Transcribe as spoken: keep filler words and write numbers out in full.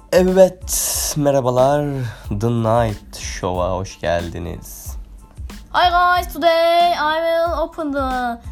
Evet, merhabalar. The Night Show'a hoş geldiniz. Hi guys, today I will open the